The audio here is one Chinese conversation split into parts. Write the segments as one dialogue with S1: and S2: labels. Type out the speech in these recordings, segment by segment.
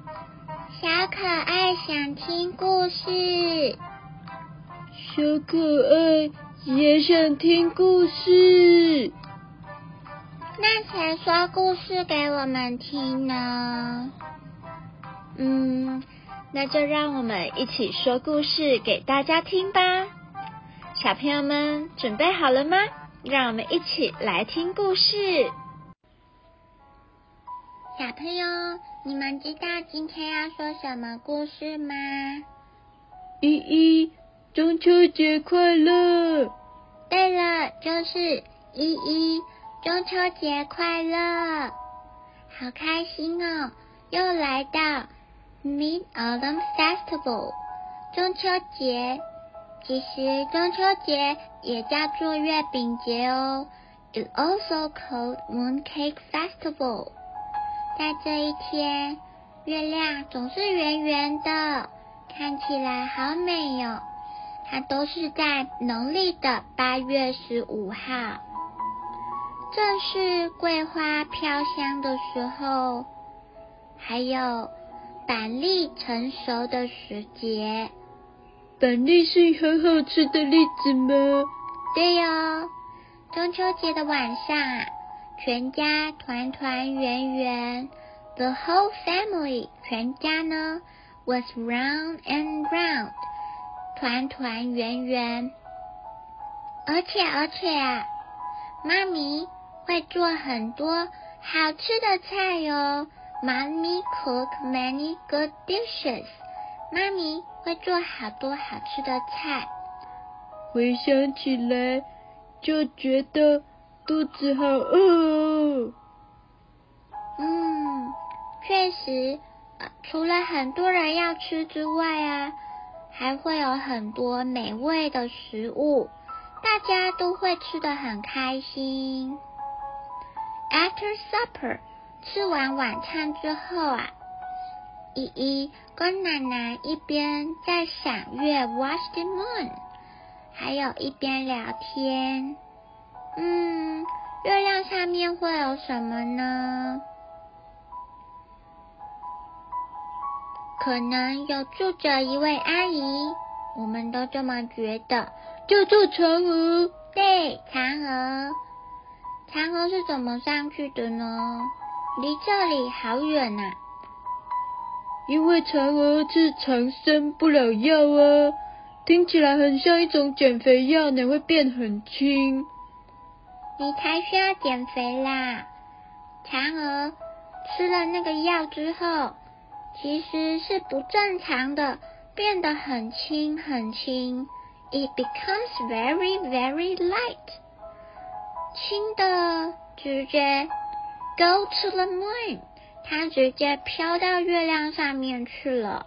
S1: 小可爱想听故事，
S2: 小可爱也想听故事。
S1: 那谁说故事给我们听呢？
S2: 那就让我们一起说故事给大家听吧。小朋友们准备好了吗？让我们一起来听故事。
S1: 小朋友，你们知道今天要说什么故事吗？
S2: 依依，中秋节快乐！
S1: 对了，就是依依，中秋节快乐！好开心哦，又来到 Mid-Autumn Festival 中秋节。其实中秋节也叫做月饼节哦， It's also called Mooncake Festival。 在这一天，月亮总是圆圆的，看起来好美哟。它都是在农历的8月15号，正是桂花飘香的时候，还有板栗成熟的时节。
S2: 板栗是很好吃的栗子吗？
S1: 对哟，中秋节的晚上啊，全家团团圆圆 ，the whole family 全家呢 was round and round 团团圆圆。而且啊，妈咪会做很多好吃的菜哟。Mommy cook many good dishes。妈咪会做好多好吃的菜。
S2: 回想起来就觉得肚子好饿哦。
S1: 确实，除了很多人要吃之外啊，还会有很多美味的食物，大家都会吃得很开心。After supper， 吃完晚餐之后啊，依依跟奶奶一边在赏月 watch the moon， 还有一边聊天。月亮上面会有什么呢？可能有住着一位阿姨，我们都这么觉得，
S2: 叫做嫦娥。
S1: 对，嫦娥。嫦娥是怎么上去的呢？离这里好远啊。
S2: 因为嫦娥是长生不老药啊，听起来很像一种减肥药呢，会变很轻。
S1: 你才需要减肥啦。嫦娥吃了那个药之后，其实是不正常的，变得很轻很轻。It becomes very very light。 轻的直接 go to the moon， 它直接飘到月亮上面去了。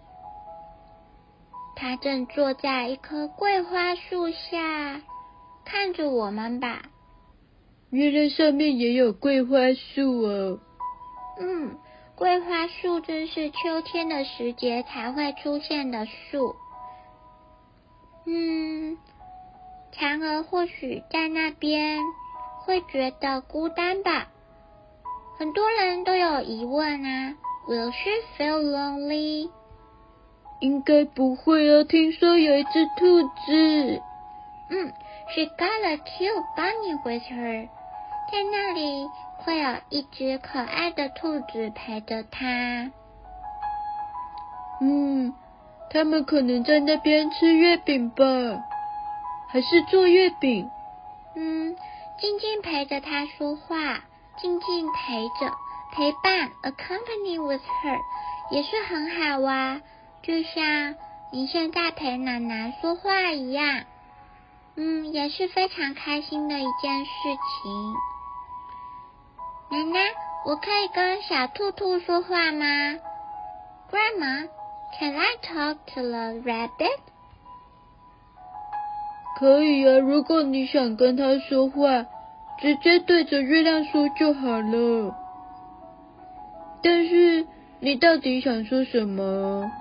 S1: 它正坐在一棵桂花树下，看着我们吧。
S2: 月亮上面也有桂花树哦。
S1: 桂花树真是秋天的时节才会出现的树。嫦娥或许在那边会觉得孤单吧。很多人都有疑问啊 ，Will she feel lonely？
S2: 应该不会啊，听说有一只兔子。
S1: She got a cute bunny with her。 在那里会有一只可爱的兔子陪着她。
S2: 他们可能在那边吃月饼吧，还是做月饼。
S1: 静静陪着她说话，静静陪伴 accompany with her 也是很好啊，就像你现在陪奶奶说话一样。也是非常开心的一件事情。奶奶，我可以跟小兔兔说话吗？ Grandma, can I talk to the rabbit?
S2: 可以啊，如果你想跟他说话，直接对着月亮说就好了。但是你到底想说什么？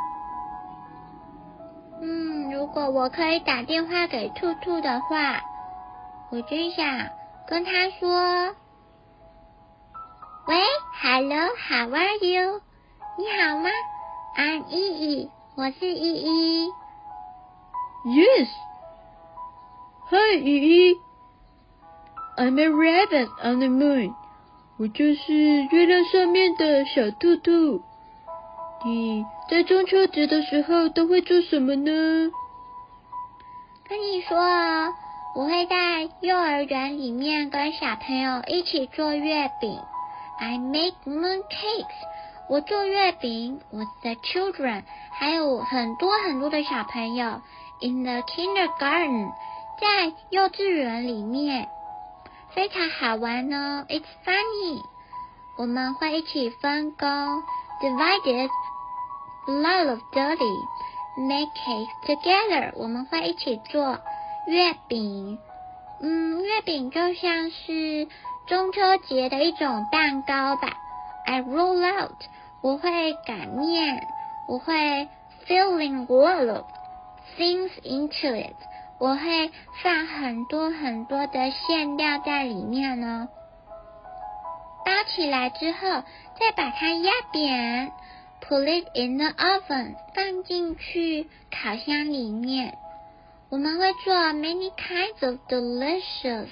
S1: 如果我可以打电话给兔兔的话，我真想跟他说，喂 ，Hello, how are you? 你好吗？ I'm 依依，我是依依。
S2: Yes. Hi, 依依。I'm a rabbit on the moon. 我就是月亮上面的小兔兔。你在中秋节的时候都会做什么呢？
S1: 跟你说哦，我会在幼儿园里面跟小朋友一起做月饼。I make moon cakes. 我做月饼 with the children， 还有很多很多的小朋友 in the kindergarten， 在幼稚园里面，非常好玩哦。It's funny。我们会一起分工 divided lot of dirty make cake together。 我们会一起做月饼。月饼就像是中秋节的一种蛋糕吧。I roll out， 我会擀面，我会 filling all of things into it， 我会放很多很多的馅料在里面呢。包起来之后，再把它压扁 ，put it in the oven， 放进去烤箱里面。我们会做 many kinds of delicious，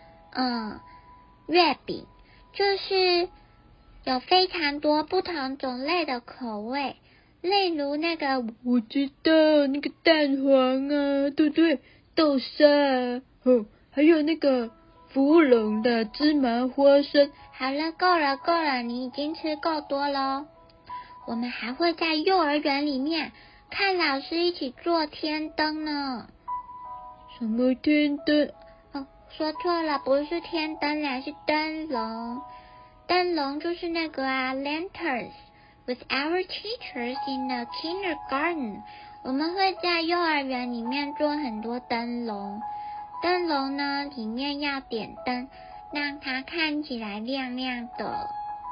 S1: 月饼，就是有非常多不同种类的口味，例如那个
S2: 我知道那个蛋黄啊，对不对？豆沙啊，还有那个芙蓉的芝麻花生。
S1: 好了，够了，你已经吃够多咯。我们还会在幼儿园里面看老师一起做天灯呢。
S2: 什么天灯？
S1: 说错了，不是天灯啦，是灯笼。灯笼就是那个lanterns with our teachers in the kindergarten。 我们会在幼儿园里面做很多灯笼。灯笼呢，里面要点灯，让它看起来亮亮的。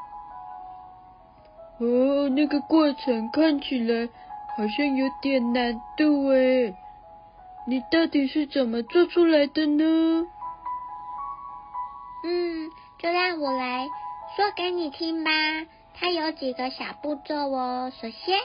S2: 那个过程看起来好像有点难度诶，你到底是怎么做出来的呢？
S1: 就让我来说给你听吧。它有几个小步骤哦。首先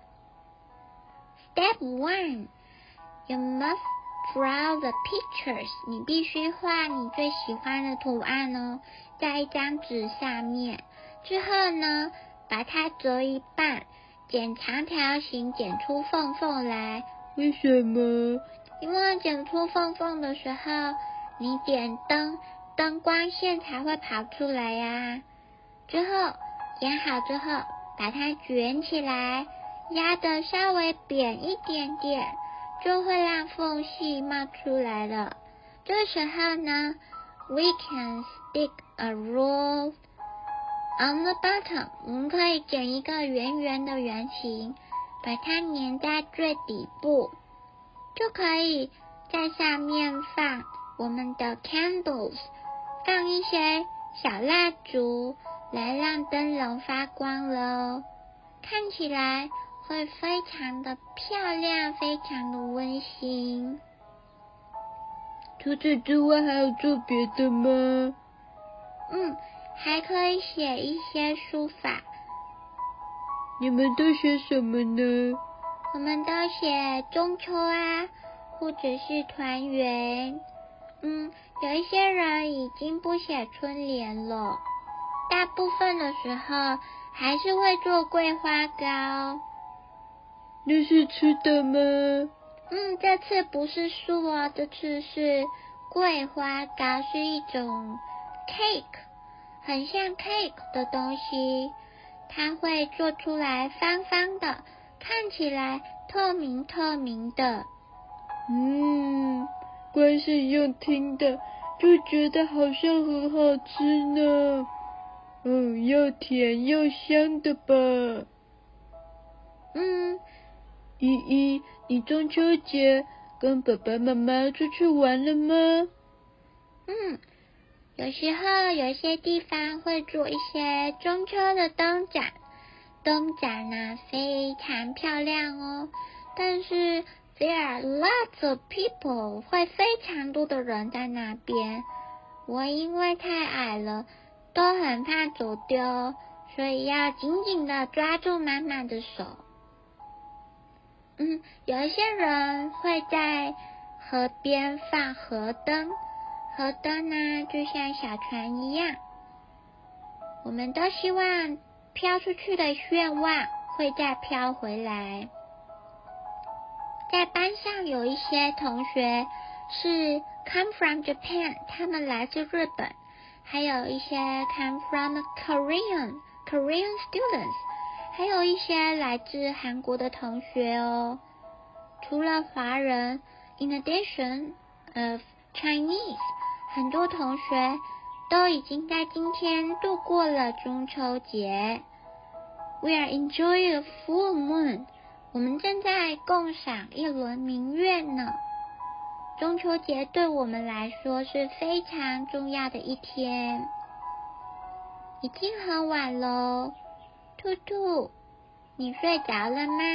S1: Step 1， You must draw the pictures。 你必须画你最喜欢的图案哦，在一张纸上面。之后呢，把它折一半，剪长条形，剪出缝缝来。
S2: 为什么？
S1: 因为剪出缝缝的时候，你点灯光线才会跑出来呀。之后剪好之后，把它卷起来，压得稍微扁一点点，就会让缝隙冒出来了。这时候呢 ，we can stick a roll on the bottom。 我们可以剪一个圆圆的圆形，把它粘在最底部，就可以在上面放我们的 candles， 放一些小蜡烛来让灯笼发光了，看起来会非常的漂亮，非常的温馨。
S2: 除此之外还有做别的吗？
S1: 还可以写一些书法。
S2: 你们都写什么呢？
S1: 我们都写中秋或者是团圆。有一些人已经不写春联了，大部分的时候还是会做桂花糕。
S2: 那是吃的吗？
S1: 这次不是树哦，这次是桂花糕，是一种 cake， 很像 cake 的东西，它会做出来方方的，看起来透明透明的。
S2: 光是用听的就觉得好像很好吃呢。又甜又香的吧。依依，你中秋节跟爸爸妈妈出去玩了吗？
S1: 有时候有些地方会做一些中秋的灯展，灯展呢非常漂亮哦，但是 there are lots of people， 会非常多的人在那边。我因为太矮了，都很怕走丢， 所以要紧紧的抓住妈妈的手。有一些人会在河边放河灯，河灯呢就像小船一样，我们都希望飘出去的愿望会再飘回来。在班上有一些同学是 come from Japan， 他们来自日本，还有一些 come from Korean students， 还有一些来自韩国的同学哦。除了华人 in addition of Chinese， 很多同学都已经在今天度过了中秋节。We are enjoying a full moon， 我们正在共赏一轮明月呢。中秋节对我们来说是非常重要的一天。已经很晚咯，兔兔，你睡着了吗？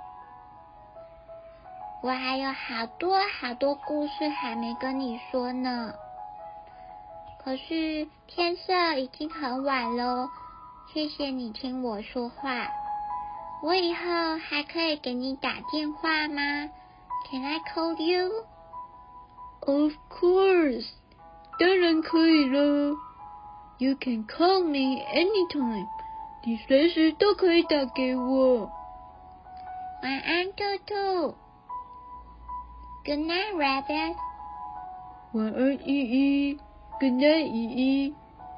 S1: 我还有好多故事还没跟你说呢。可是天色已经很晚咯，谢谢你听我说话。我以后还可以给你打电话吗？ Can I call you?
S2: Of course， 当然可以了。You can call me anytime， 你随时都可以打给我。
S1: 晚安，兔兔。Good night, Rabbit。
S2: 晚安，依依。Good night，依依。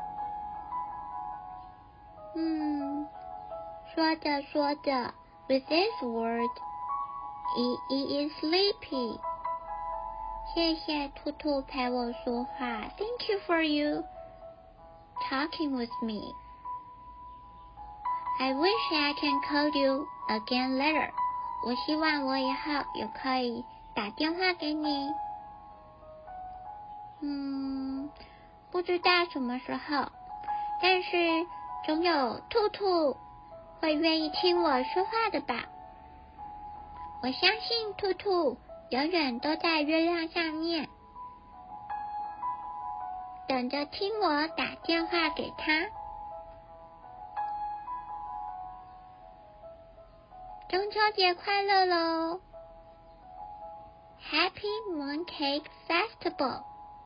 S1: 说着说着 ，with this word， 依依 is sleepy。谢谢兔兔陪我说话 ，Thank you for you talking with me. I wish I can call you again later. 我希望我以后也可以打电话给你。不知道什么时候，但是总有兔兔会愿意听我说话的吧。我相信兔兔永远都在月亮上面，等着听我打电话给他。中秋节快乐咯 ！Happy Mooncake Festival！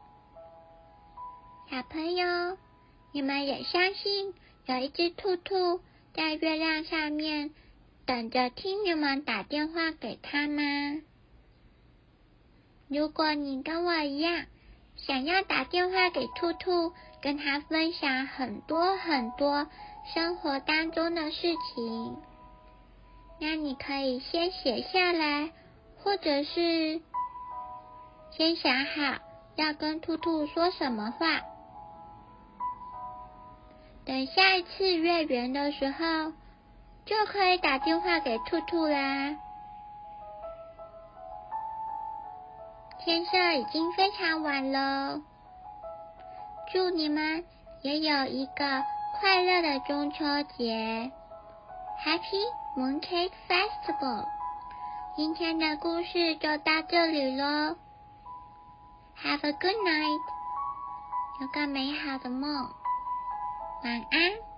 S1: 小朋友，你们也相信有一只兔兔在月亮上面等着听你们打电话给他吗？如果你跟我一样，想要打电话给兔兔，跟他分享很多生活当中的事情，那你可以先写下来，或者是先想好要跟兔兔说什么话。等下一次月圆的时候，就可以打电话给兔兔啦。天色已经非常晚了，祝你们也有一个快乐的中秋节 Happy Mooncake Festival！ 今天的故事就到这里咯， Have a good night， 有个美好的梦，晚安。